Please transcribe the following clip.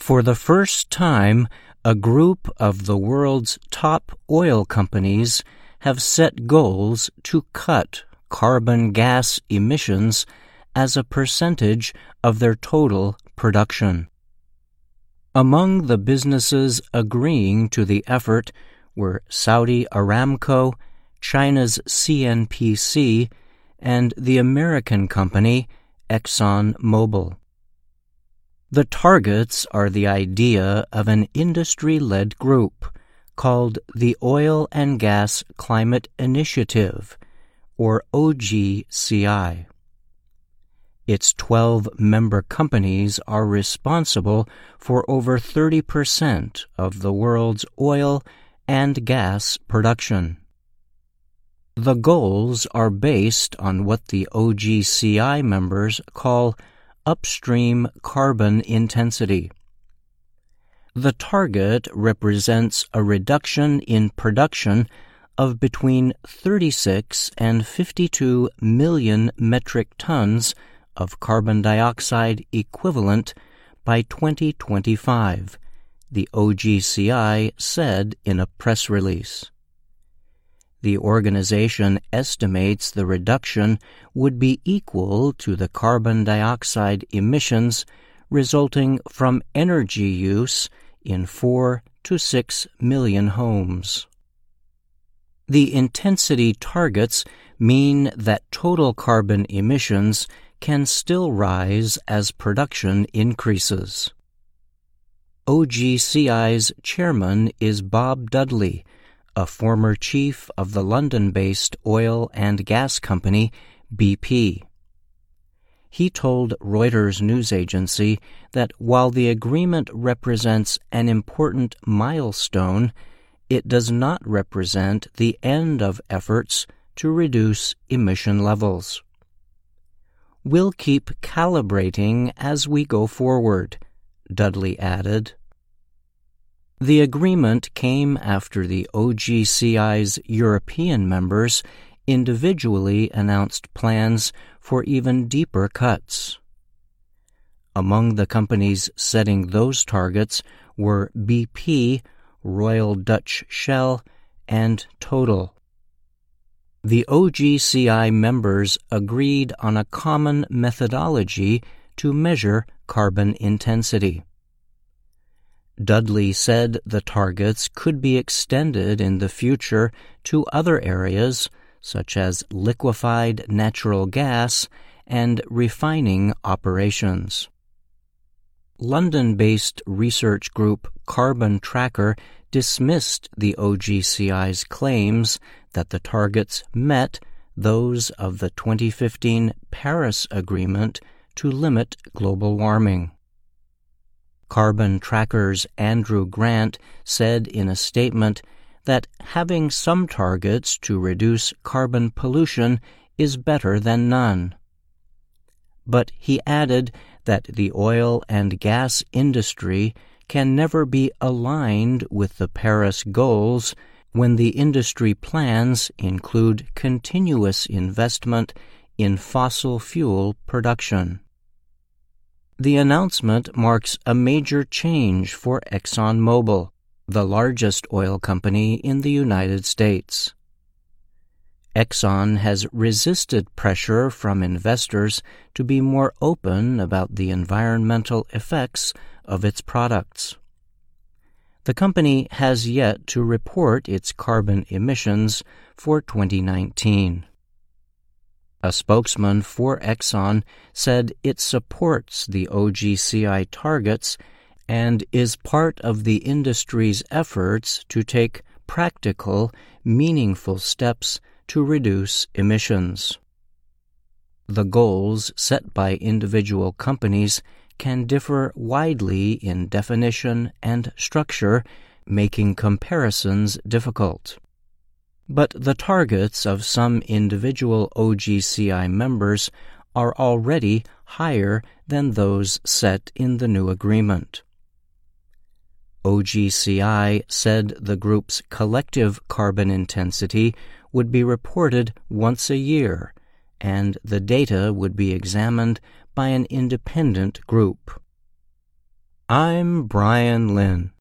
For the first time, a group of the world's top oil companies have set goals to cut carbon gas emissions as a percentage of their total production. Among the businesses agreeing to the effort were Saudi Aramco, China's CNPC, and the American company ExxonMobil. The targets are the idea of an industry-led group called the Oil and Gas Climate Initiative, or OGCI. Its 12 member companies are responsible for over 30% of the world's oil and gas production. The goals are based on what the OGCI members call upstream carbon intensity. The target represents a reduction in production of between 36 and 52 million metric tons of carbon dioxide equivalent by 2025, the OGCI said in a press release. The organization estimates the reduction would be equal to the carbon dioxide emissions resulting from energy use in 4 to 6 million homes. The intensity targets mean that total carbon emissions can still rise as production increases. OGCI's chairman is Bob Dudley, a former chief of the London-based oil and gas company BP. He told Reuters news agency that while the agreement represents an important milestone, it does not represent the end of efforts to reduce emission levels. "We'll keep calibrating as we go forward," Dudley added. The agreement came after the OGCI's European members individually announced plans for even deeper cuts. Among the companies setting those targets were BP, Royal Dutch Shell, and Total. The OGCI members agreed on a common methodology to measure carbon intensity. Dudley said the targets could be extended in the future to other areas such as liquefied natural gas and refining operations. London-based research group Carbon Tracker dismissed the OGCI's claims that the targets met those of the 2015 Paris Agreement to limit global warming. Carbon Tracker's Andrew Grant said in a statement that having some targets to reduce carbon pollution is better than none. But he added that the oil and gas industry can never be aligned with the Paris goals when the industry plans include continuous investment in fossil fuel production. The announcement marks a major change for ExxonMobil, the largest oil company in the United States. Exxon has resisted pressure from investors to be more open about the environmental effects of its products. The company has yet to report its carbon emissions for 2019. A spokesman for Exxon said it supports the OGCI targets and is part of the industry's efforts to take practical, meaningful steps to reduce emissions. The goals set by individual companies can differ widely in definition and structure, making comparisons difficult. But the targets of some individual OGCI members are already higher than those set in the new agreement. OGCI said the group's collective carbon intensity would be reported once a year, and the data would be examined by an independent group. I'm Brian Lynn.